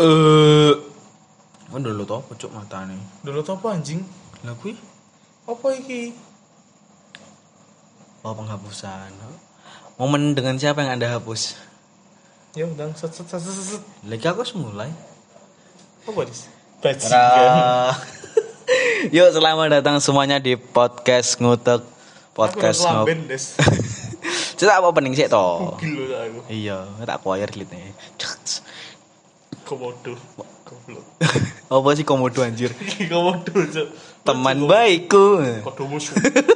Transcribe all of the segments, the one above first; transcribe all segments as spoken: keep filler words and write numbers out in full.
Eh, uh, dulu to apa cuk matane? Dulu to apa anjing? Lah kuwi Apa iki? oh penghapusan. Momen dengan siapa yang Anda hapus? Ya udah set set set set. set. Lagi aku harus mulai. Apa dis? Bajingan. Ra- Yuk selamat datang semuanya di podcast ngutek podcast Aku ngop. lamben des. Cita apa opening sih to? Gila lah aku. Iya, tak choir glitne. Komodo. Goblok. Apa sih komodo anjir? Komodo cuk. Teman baikku. Komodo musuh.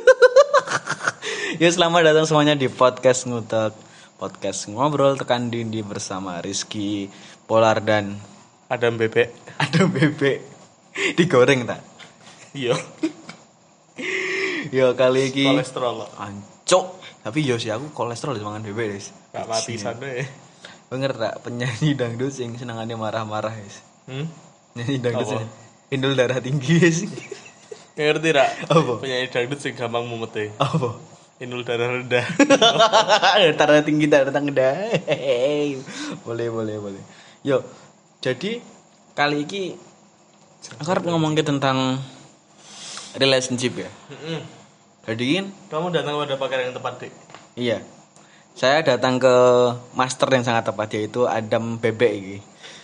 Ya selamat datang semuanya di podcast ngutek podcast ngobrol tekan dindi bersama Rizky Polar dan Adam bebek. ada bebek digoreng tak? Iya. Ya kali ini Kolesterol lah. ancok. Tapi yo sih aku kolesterol mangan bebek guys. Gak mati sana ya. Bener tak penyanyi dangdut sing senengannya marah-marah guys. Hmm? Nyanyi dangdut Apa? sing indul darah tinggi guys. Ngerti rak? Apa? Penyanyi dangdut sing gampang mumete. Apa? Indul darah rendah. Darah tinggi darah rendah. Boleh boleh boleh. Yo, jadi kali ini aku harus ngomongin tentang relationship ya. Heeh. Jadi kan Kamu datang pada pakaian yang tepat, Dik. iya. Saya datang ke master yang sangat tepat yaitu Adam Bebek iki.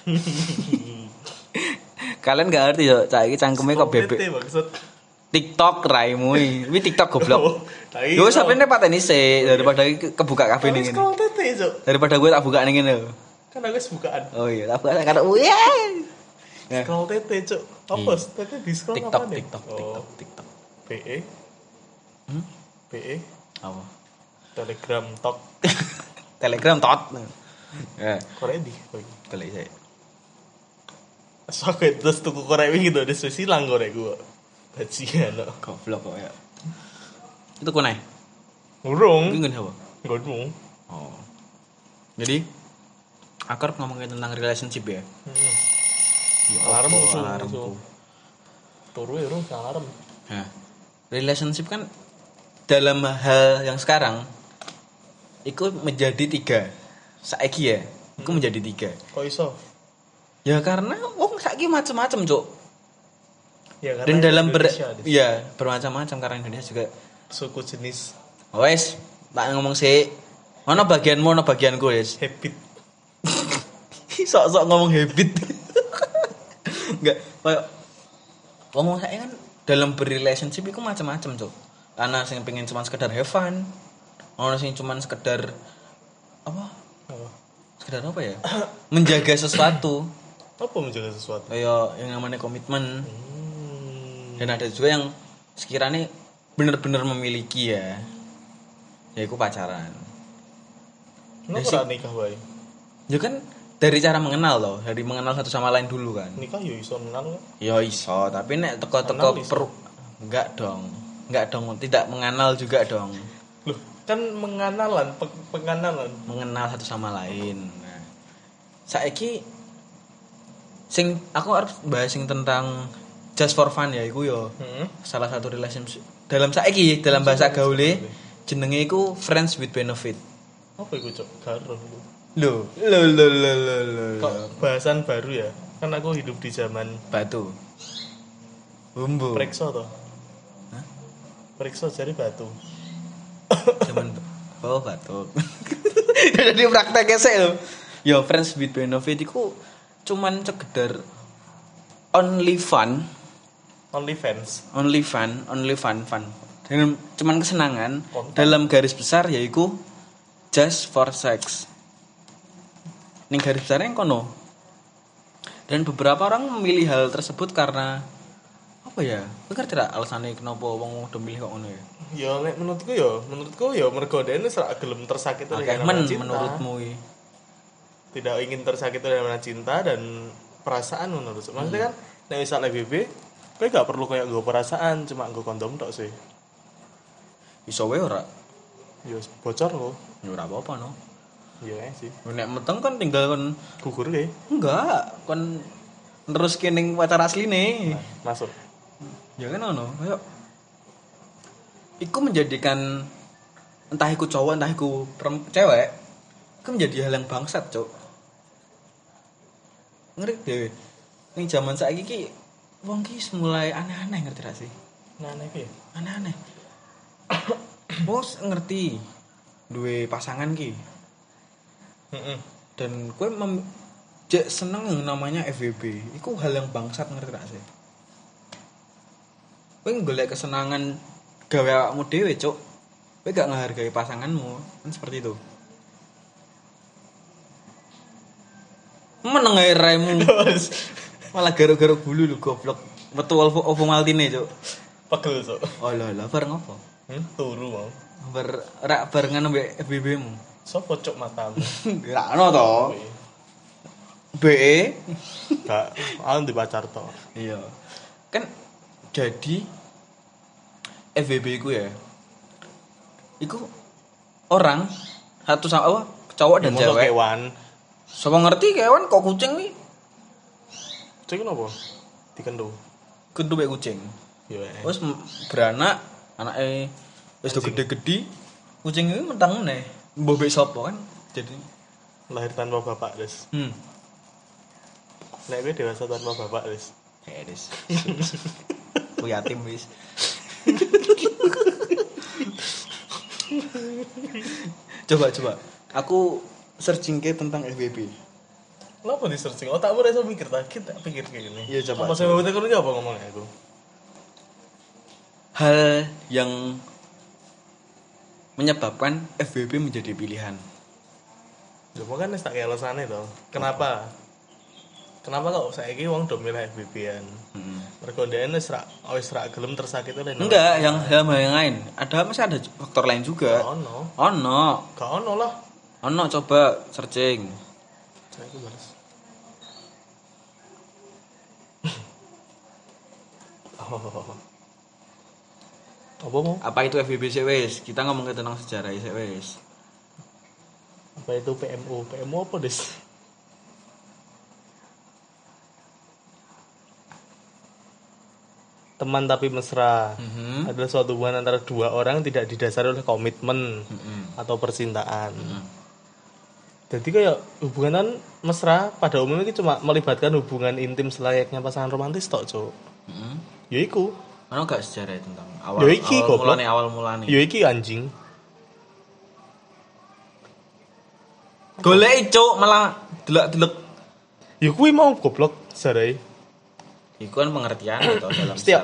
Kalian gak ngerti yo, cak iki cangkeme kok bebek. Tete, maksud. TikTok raimu iki. Ini TikTok goblok. Oh, tai. Yo sampeyan pateni sih daripada iki kebuka kafe Tapi ning ngene. scroll tete, Cuk. Daripada gue tak buka ning ngene. Kan aku wis bukaan. Oh iya, tak buka karo iya. Ya. Scroll tete, Cuk. Apa? Tete di scroll TikTok, apa nih? TikTok, Oh. TikTok, TikTok. P E. Hmm? P E. Apa? Telegram Talk. Telegram tot. Ya, Korek di. Oh, iki. kali saya. So aku terus tuku korek wingi to, wis hilang korek gua. Bajingan kok. Goblok kok ya. Itu kunai. Urung. Bingung apa? Godmu. Oh. Jadi aku harus ngomongin tentang relationship ya. Heeh. Ya, Alarm apa musuh, alarmku. musuh. Turu ya, urung alarm. Nah, relationship kan dalam hal yang sekarang itu menjadi tiga. Saiki ya, itu Hmm. menjadi tiga. Kok iso? Ya karena wong saiki macam-macam, Cuk. Ya karena Dan dalam ber Indonesia, Dis. iya, bermacam-macam karena Indonesia juga. suku jenis Wes, tak ngomong sih. Ono bagianmu, ono bagianku, Wes. habit. Sok-sok ngomong habit. Enggak, kayak ngomong saya kan dalam berrelationship itu macam-macam, Cuk. Ana sing pengen cuma sekedar have fun. Ono sing cuma sekedar apa? Apa? Sekedar apa ya? Menjaga sesuatu. Apa menjaga sesuatu? Kayak yang namanya komitmen. Hmm. Dan ada juga yang sekiranya benar-benar memiliki ya. Yaitu pacaran. Kenapa Ya, ora nikah wae? Ya kan dari cara mengenal loh, dari mengenal satu sama lain dulu kan. Nikah yo iso kenal kok. Ya iso, tapi nek teko-teko Mengenal iso. per enggak dong. Enggak dong, tidak mengenal juga dong. Loh, kan mengenalan, pe- pengenalan. Mengenal satu sama lain. Nah, saiki sing aku harus bahas sing tentang just for fun ya iku yo. Heeh. Salah satu relationship dalam saiki dalam bahasa gaule jenenge iku friends with benefit. Apa iku, Cok? Garo. Loh, lo lo lo lo lo. Kok bahasan baru ya? Kan aku hidup di zaman Batu. Bumbu. Prekso toh. Hah? Prekso jadi batu. Zaman oh batuk. Jadi prakteknya sih lo. Yo friends with benefit iku cuman sekedar only fun, Only fans. only fun, only fun fun. Dan cuman kesenangan Konten. dalam garis besar yaitu just for sex. Ning garis besarnya yang kono. Dan beberapa orang memilih hal tersebut karena apa ya? Kowe ngerti ra alasannya kenapa wong udah milih kok ngono ya? Ya nek menurutku ya, menurutku ya mergo dene serak gelem tersakiti Oke, dengan men namanya cinta. menurutmu iki. Tidak ingin tersakiti dengan cinta dan perasaan menurut. Maksudnya kan nek misalnya B B, kowe gak perlu kayak nggo perasaan, cuma nggo kondom tok sih. Iso wae ora? Ya bocor loh. Ya ora apa-apa no. Iya sih. Nek meteng kan tinggal kon Gugur ke. enggak, kon terus kening pacar asline. Masuk. Ya kan ono, kayak iku menjadikan entah iku cowok entah iku perem- cewek, itu menjadi hal yang bangsat, Cuk. Ngerti dhewe. Ning jaman saiki ki wong ki mulai aneh-aneh ngerti ra sih? Nah, nek piye? Aneh-aneh. Bos ngerti duwe pasangan ki Heeh. dan kowe mem- jek seneng yang namanya F W B. Iku hal yang bangsat ngerti ra sih? Kowe golek kesenangan gawe awakmu dhewe, Cuk. Kowe gak ngehargai pasanganmu, kan seperti itu. Meneng ae raimu. Malah garuk-garuk bulu lu goblok. Metu Ovo Ovo Maltine, Cuk. Pegel, Cuk. Oh lho lho bareng apa? Hmm, turu mau. Bar rak barengan mbek F B B-mu. Sopo cuk matamu? Gak ono to. B E. Gak, aku di pacar to. Iya. Kan jadi F B B ku ya. Iku orang satu sama apa? Cowok dan Mosok cewek. kewan. Sapa ngerti kewan kok kucing wi? Cek napa? Dikendo. Kudu mbek kucing. Yo. Terus m- beranak anake wis do gede-gede. Kucing iki mentang meneh. Mbok mbek sapa kan? Jadi Lahir tanpa bapak, Des. hmm. Nek kowe dewasa tanpa bapak, Des. Kayak des. Ku yatim wis. Coba coba. Aku searching ke tentang F B B. Kenapa di searching? Otakmu rasa mikir tak kita pikir kayak gini. Iya, coba, Apa saya coba. mau tekan apa ngomongnya aku? Hal yang menyebabkan F B B menjadi pilihan. Ya kan wis tak kayak alasane to. Kenapa? Kenapa kok saiki wong do milih F B B-an? Hmm. Mergo ndekne wis ra wis ra gelem tersakiti oleh Enggak, yang hal yang lain. Ada masih ada faktor lain juga. ono. Ono, Gak ono lah. ono coba searching. Saya itu balas. Oh. Apa mau? Apa itu F B B sih wes? Kita ngomongin tentang sejarah sih wes. Apa itu P M O? P M O apa, Des? Teman tapi mesra Mhm. adalah suatu hubungan antara dua orang tidak didasari oleh komitmen Mhm. atau percintaan. Mhm. Jadi kayak hubungan mesra pada umumnya itu cuma melibatkan hubungan intim selayaknya pasangan romantis tok, Cuk. Mhm. Ya iku. Ono gak sejarah tentang awal Yo iki, awal goblok. mulane awal mulane. Ya iki anjing. Golek cuk malah delok-delok. Ya kuwi mau goblok sarai. Iku kan pengertian atau dalam Setiap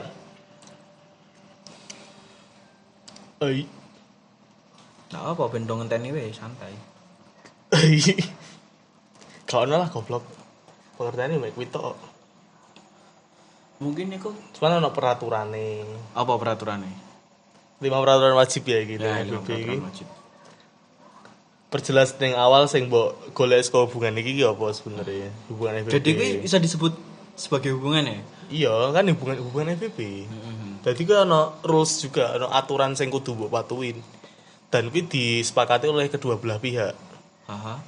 Ai. Nah, apa ben dong ngenteni weh santai. Ai. Kau lah goblok. Pengertiannya mek kuwi tok. Mungkin iku Cuman ana peraturane. apa peraturannya? Lima peraturan wajib ya gitu. Ya, F B itu B iki. peraturan wajib. Perjelas ning awal sing mbok golek saka hubungan iki ki apa sebenarnya? Hubungan F B B. Jadi kuwi bisa disebut sebagai hubungan ya? Iya, kan hubungan hubungan F B B. Mhm. Jadi kan ana rules juga, ana aturan sing kudu mbok patuhin. Dan kuwi disepakati oleh kedua belah pihak. Aha.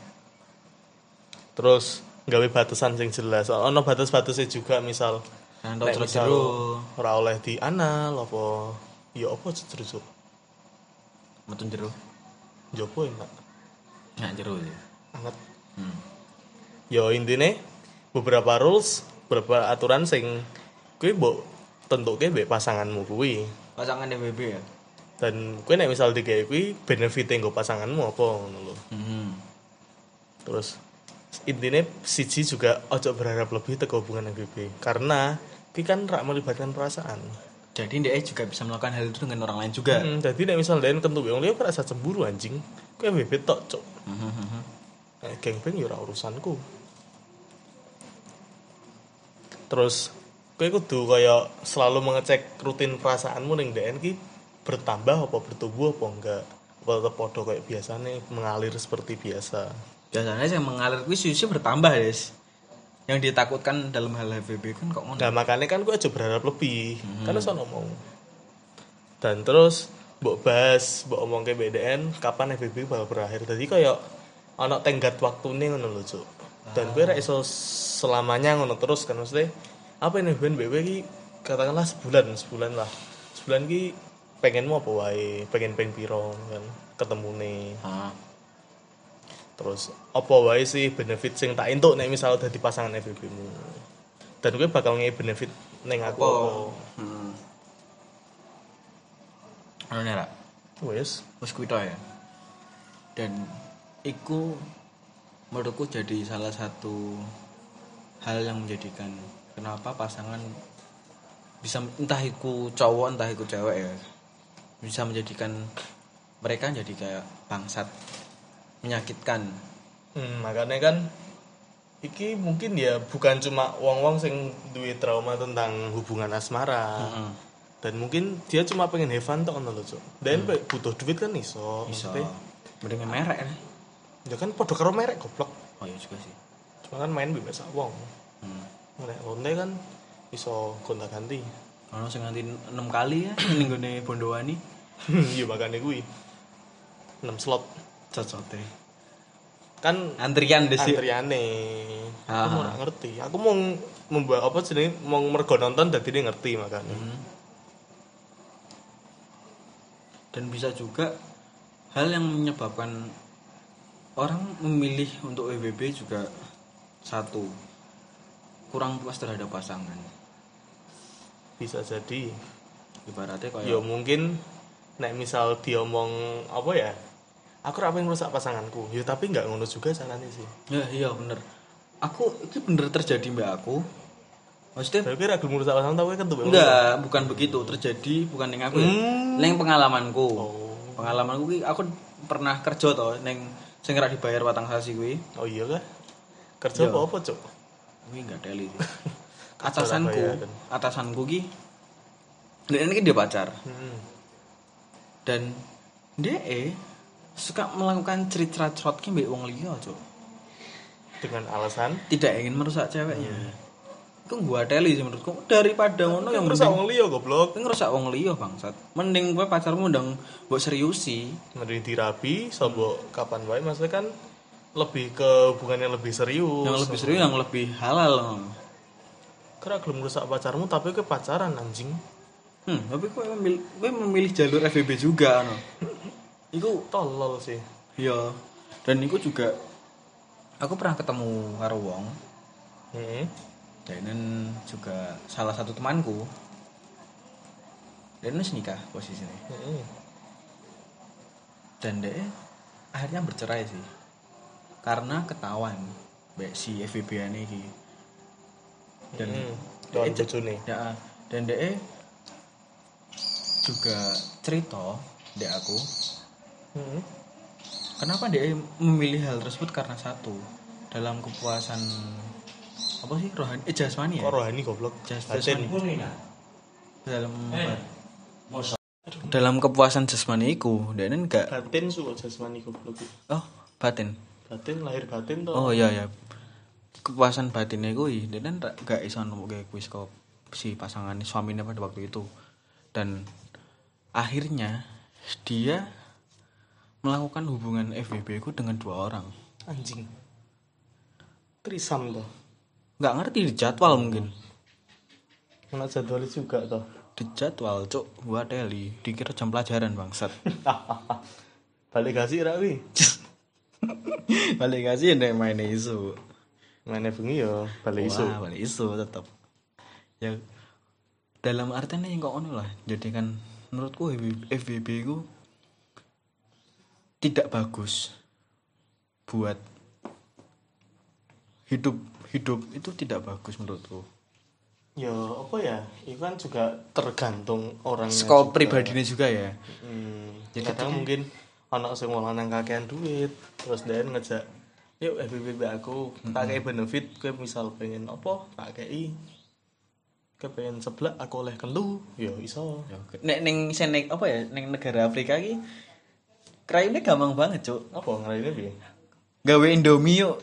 Terus gawe batasan sing jelas. Ana batas-batasnya juga, misal Kan nek terus misal jero. ora oleh di anal apa ya apa jero Metu jero. jopo enak Nggak jero ya. anget. Hmm. Ya intine beberapa rules, beberapa aturan sing kuwi mbok tentuke mbek pasanganmu kuwi. Pasangan F B B ya? Dan kuwi nek misal digawe kuwi benefite nggo pasanganmu apa ngono lho. Mhm. Terus intine siji juga ojo berharap lebih teko hubungan F B B karena kuwi kan rak melibatkan perasaan. Jadi dia juga bisa melakukan hal itu dengan orang lain juga. Hmm, jadi nek misal den kentu wong liya kok rasa cemburu anjing. Kuwi F B B tok, Cuk. Mhm. Nek geng-geng ya ora urusanku. Terus kowe kudu kaya selalu mengecek rutin perasaanmu ning D N ki bertambah apa bertumbuh apa enggak. Apa tetep padha kayak biasane mengalir seperti biasa. Biasanya yang mengalir kuwi susu bertambah, Des. Yang ditakutkan dalam hal F B B kan kok ngono. Nah, makanya kan gue aja berharap lebih. Kan iso ngomong. Dan terus mbok bahas, mbok omong ke B D N kapan F B B bakal berakhir. Jadi kayak ana tenggat waktune ngono lho, Cuk. Dan gue ra iso selamanya ngono terus kan maksudnya. Apa ini ben B B iki katakanlah sebulan, sebulan lah. Sebulan ki pengenmu apa wae, pengen ping piro kan ketemune. Ah. Terus apa wae sih benefit sing tak entuk nek misal dadi pasangan F W B-mu. Dan kowe bakal ngei benefit ning aku apa. Hmm. Anu nih, Rak. Wes, Wis kuwi tok ya. Dan iku menurutku jadi salah satu hal yang menjadikan kenapa pasangan bisa entah iku cowok entah iku cewek ya bisa menjadikan mereka jadi kayak bangsat menyakitkan. hmm, makanya kan iki mungkin ya bukan cuma wong-wong sing duwe trauma tentang hubungan asmara. Heeh. Dan mungkin dia cuma pengen have fun tok ngono lho, Cuk. Dan hmm. butuh duit kan iso. Iso. Maksudnya, Mending merek ya. ya kan padha karo merek goblok. Oh iya juga sih. Cuma kan main bebas wong. Hmm. Nek lonte kan iso gonta-ganti. Ono sing nganti enam kali ya ning gone Bondowani. Iya makane kuwi. enam slot Cocote. kan Antrian deh sih. antriane. Ah. Aku ora ngerti. Aku mau membuat apa jenenge mau mergo nonton dadi dia ngerti makane. Hmm. Dan bisa juga hal yang menyebabkan orang memilih untuk W B B juga satu kurang puas terhadap pasangan. Bisa jadi. Ibaratnya kayak Ya mungkin nek misal diomong apa ya? Aku ora pengen rusak pasanganku. Ya tapi enggak ngono juga caranya sih. ya iya bener. Aku itu bener terjadi mbak aku. Maksudnya Saya kira gelem rusak pasangan tapi kan tuh. enggak, bukan begitu. Terjadi bukan ning aku ya. Hmm. Ning pengalamanku. Oh. Pengalamanku ki aku pernah kerja to ning sing ora dibayar watang sasi kuwi. Oh iya kah? Kerja Iya. apa apa, Cuk? Kuwi enggak teli sih. Kerja Atasanku, bayaran. atasanku ki dia ini dia pacar. Hmm. Dan dia eh suka melakukan cerit-cerat ki mbek wong liya, Cuk. Dengan alasan Tidak ingin merusak ceweknya. Iku gua teli sih menurutku daripada ngono yang rusak mending wong liya goblok. kowe ngerusak wong liya bangsat. Mending kowe pacarmu ndang mbok seriusi. Mending dirabi sobo kapan wae maksudnya kan lebih ke hubungan yang lebih serius. Yang lebih serius, yang lebih halal. Kira gelem rusak pacarmu tapi ke pacaran anjing. Hmm, tapi kowe memilih kowe memilih jalur F B B juga no. Iku Tolol sih. iya. Dan iku juga aku pernah ketemu karo wong. Heeh. Dan juga salah satu temanku. Dan wis nikah posisinya. Heeh. Dan dia akhirnya bercerai sih. Karena ketahuan mbek si F B B-an iki. Dan Hmm. Don dia- bojone. ya, dan dia juga cerita dek aku Heeh. kenapa dia memilih hal tersebut karena satu dalam kepuasan apa sih rohani eh jasmani ya Kok rohani goblok. Jas- Batin. jasmani dalam dalam kepuasan jasmani iku dia enggak Batin suka jasmani goblok. oh batin Batin lahir batin toh. oh iya ya kepuasan batinnya kuwi dia kan gak iso nemuke kuis kok si pasangan suaminya pada waktu itu dan akhirnya dia melakukan hubungan F B B ku dengan dua orang. Anjing. Trisam toh. Nggak ngerti di jadwal mungkin. Mana jadwal juga toh. Di jadwal cuk gua teli dikira jam pelajaran bangsat. Balik kasih ra wi. Balik kasih nek main isu. Mana bengi yo balik isu. Wah, balik isu tetap. Ya dalam artinya yang kok ngono lah. Jadi kan menurutku F B B ku tidak bagus buat hidup hidup itu tidak bagus menurutku. Ya apa ya? Itu kan juga tergantung orangnya. Skop juga. pribadinya juga ya. Hmm. Jadi Kadang ketika- mungkin anak sing wong lanang kakean duit, terus dia ngejak, "Yuk F B B aku, tak kei benefit, kowe misal pengen apa, tak kei." Kowe pengen seblak aku oleh kelu, ya iso. Nek ning senek apa ya ning negara Afrika iki kraine gampang banget, Cuk. Apa ngelainnya piye? Gawe Indomie yuk.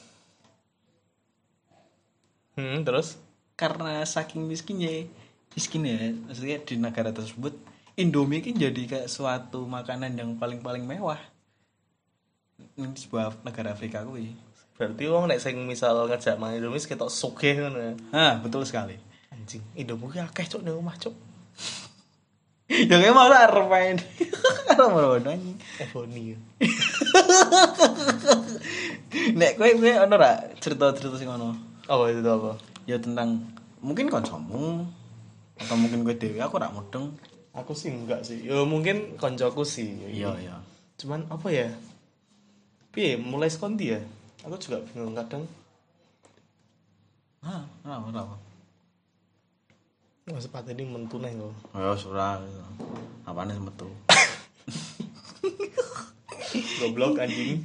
Hmm, terus Karena saking miskinnya, miskinnya maksudnya di negara tersebut Indomie kan jadi kayak suatu makanan yang paling-paling mewah. Ini sebuah negara Afrika kuwi. berarti wong nek sing misal ngejak mangan Indomie ketok sugih ngono ya. Ah, betul sekali. Anjing, Indomie ki akeh cuk ning omah cuk. Ya kayak malah arep main. Arep ngono anjing. Ebony. Nek kowe kowe ono ra cerita-cerita sing ngono? Apa itu apa? Ya tentang mungkin kancamu atau mungkin kowe dhewe aku ora mudeng. Aku sih enggak sih. Ya mungkin koncoku sih. Iya, iya. Cuman apa ya? Piye mulai sekondi ya? Aku juga bingung kadang. Ah, apa apa? Mas sepatu ini mentu neh kok. Ya ora. Apane metu? Goblok anjing.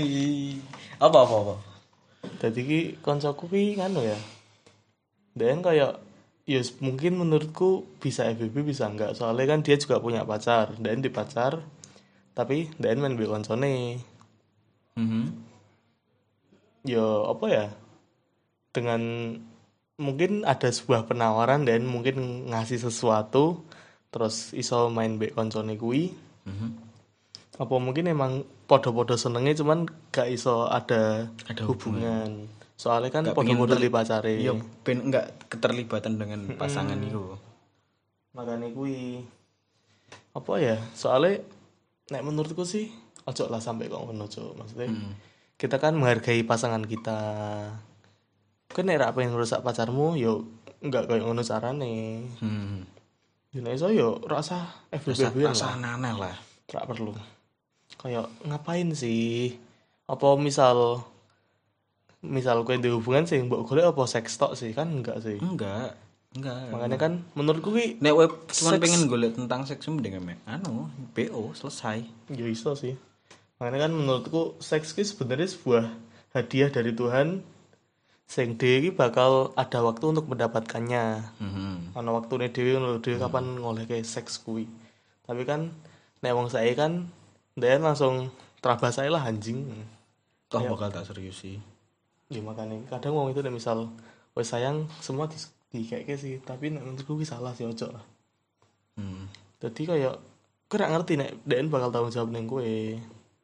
Apa apa apa? Dadi ki koncoku ki nganu ya. Dan kayak ya mungkin menurutku bisa F B B bisa enggak. Soalnya kan dia juga punya pacar. Dan di pacar tapi dan main be koncone. Mhm. Ya apa ya? Dengan mungkin ada sebuah penawaran dan mungkin ngasih sesuatu terus iso main be koncone kuwi. Mhm. Apa mungkin emang podo-podo senengnya cuman gak iso ada, Ada hubungan. Soalnya kan Gak pengen podo-podo ter- di pacare. Iya, ben enggak keterlibatan dengan pasangan itu. Makanya kuwi apa ya? Soalnya nek menurutku sih ojo lah sampai kok ngono, Cuk. Maksudnya Hmm. kita kan menghargai pasangan kita. Kan nek ra pengen ngerusak pacarmu yo enggak kayak ngono carane. Hmm. Yo nek iso yo rasa F B Rasa, B rasa lah. aneh lah. Ra perlu. Kayak ngapain sih? Apa misal misal kowe ndek hubungan sih mbok golek apa seks tok sih kan enggak sih. Enggak, enggak. Makanya kan menurutku ki Nek web cuma Seks. pengen golek tentang seks mending ame anu B O selesai. ya iso sih. Makanya kan menurutku seks ki sebenarnya sebuah hadiah dari Tuhan sing dhewe ki bakal ada waktu untuk mendapatkannya. Mhm. Ana waktune dhewe ngono dhewe kapan ngolehke seks kuwi. Tapi kan nek wong sae kan ndek langsung terabas ae lah anjing. Toh Ya. bakal tak serius sih. Ya makanya kadang wong itu nek misal wes sayang semua di dikeke sih, tapi nek menurutku ki salah sih ojo lah. Hmm. Jadi kayak gue gak ngerti nek D N bakal tanggung jawab neng gue.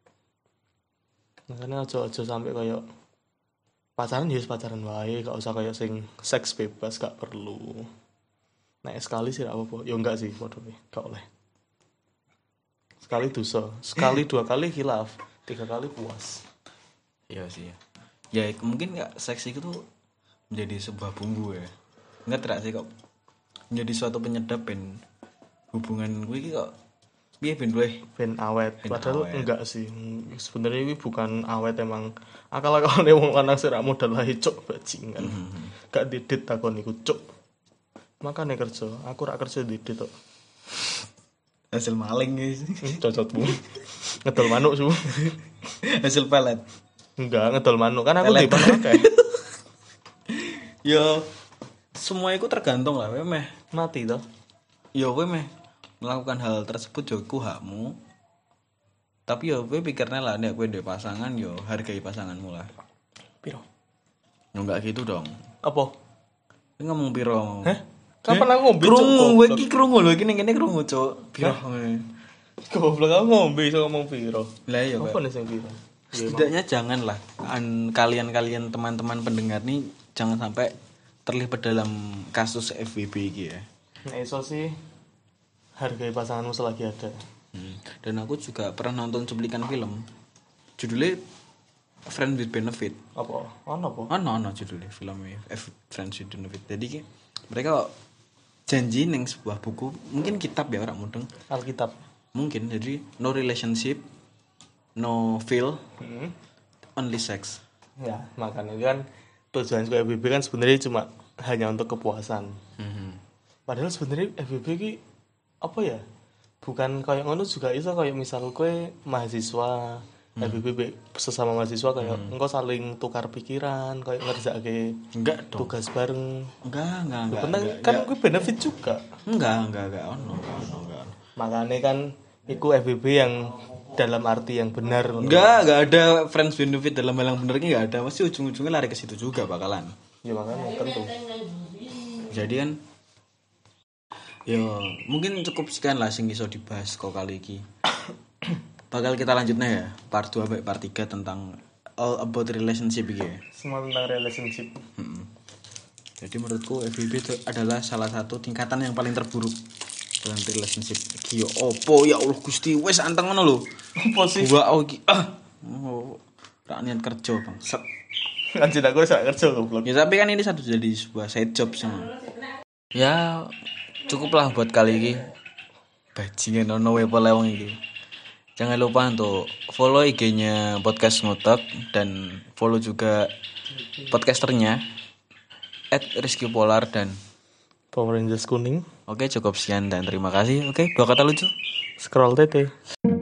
Makanya aja aja sampai kayak pacaran ya wis pacaran wae, gak usah kayak sing seks bebas gak perlu. Nek sekali sih gak apa-apa. Ya enggak sih podo gak oleh. Sekali dosa, sekali dua kali khilaf, tiga kali puas. Iya sih. Ya ya, mungkin nggak seks itu tuh menjadi sebuah bumbu ya. Enggak terak sih kok menjadi suatu penyedap ben hubungan gue iki kok piye ben gue. Ben awet. Ben Padahal awet. enggak sih. Sebenarnya ini bukan awet emang akal-akalane wong lanang sih ra modal lah cuk bajingan. Gak didit takon iku cuk. Makane kerja, aku rak kerja didit kok. Hasil maling guys. Cocotmu. Ngedol manuk su. Hasil pelet. Enggak, ngedol manuk kan aku Pelet. di manuk akeh. Ya semua itu tergantung lah we meh. Mati toh. Ya we meh melakukan hal tersebut yo ku hakmu. Tapi yo we pikirnya lah nek kowe ndek pasangan yo hargai pasanganmu lah. Piro? Ya enggak gitu dong. Apa? Kowe ngomong piro? Hah? Kapan aku ngombe cuk? Krungu, kowe Goblok. iki krungu lho, iki ning kene krungu, Cuk. Piro? Goblok aku ngombe iso ngomong piro. Lah iya, Apa Pak. nih sing piro? Setidaknya janganlah an- kalian-kalian teman-teman pendengar nih jangan sampai terlibat dalam kasus F W B iki ya. Nek iso sih hargai pasanganmu selagi ada. Hmm. Dan aku juga pernah nonton cuplikan film. Judulnya Friends with Benefit. Apa? Ono apa? Oh, no, no, judulnya filmnya F Friends with Benefit. Jadi ki, mereka janji neng sebuah buku, mungkin kitab ya orang mudeng. Alkitab. Mungkin jadi no relationship, no feel, Hmm. only sex. Ya, makanya kan tujuan F B B kan sebenarnya cuma hanya untuk kepuasan. Mhm. Padahal sebenarnya F B B ki apa ya? Bukan kayak ngono juga iso kayak misal kowe mahasiswa F B B sesama mahasiswa kayak engko saling tukar pikiran, kayak ngerjaake Enggak dong. tugas bareng. Enggak, enggak, enggak. Penting enggak, kan enggak. gue benefit juga. Enggak, enggak, enggak, ono, enggak, ono, enggak. ono. Makanya kan iku F B B yang dalam arti yang benar. Enggak, enggak ada friends benefit dalam hal yang bener ki enggak ada. Pasti ujung-ujungnya lari ke situ juga bakalan. Ya makanya tentu. Jadi kan ya mungkin cukup sekian lah sing iso dibahas kok kali iki. Bakal kita lanjutnya ya part dua sampai part tiga tentang all about relationship iki ya. Semua tentang relationship. Mm-mm. Jadi menurutku F W B itu adalah salah satu tingkatan yang paling terburuk dalam relationship iki yo opo ya Allah Gusti wis anteng ngono lho. Apa sih? Gua oh iki ah. Oh, ra niat kerja, Bang. Set. Anjir aku sak kerja goblok. Ya tapi kan ini satu jadi sebuah side job sih. Ya cukuplah buat kali ini. Bajingan ono wepo lewong iki. Jangan lupa untuk follow I G-nya Podcast Ngotak dan follow juga podcasternya at Rizky Polar dan Power Rangers kuning. oke cukup sekian dan terima kasih. Oke, dua kata lucu. Scroll tete.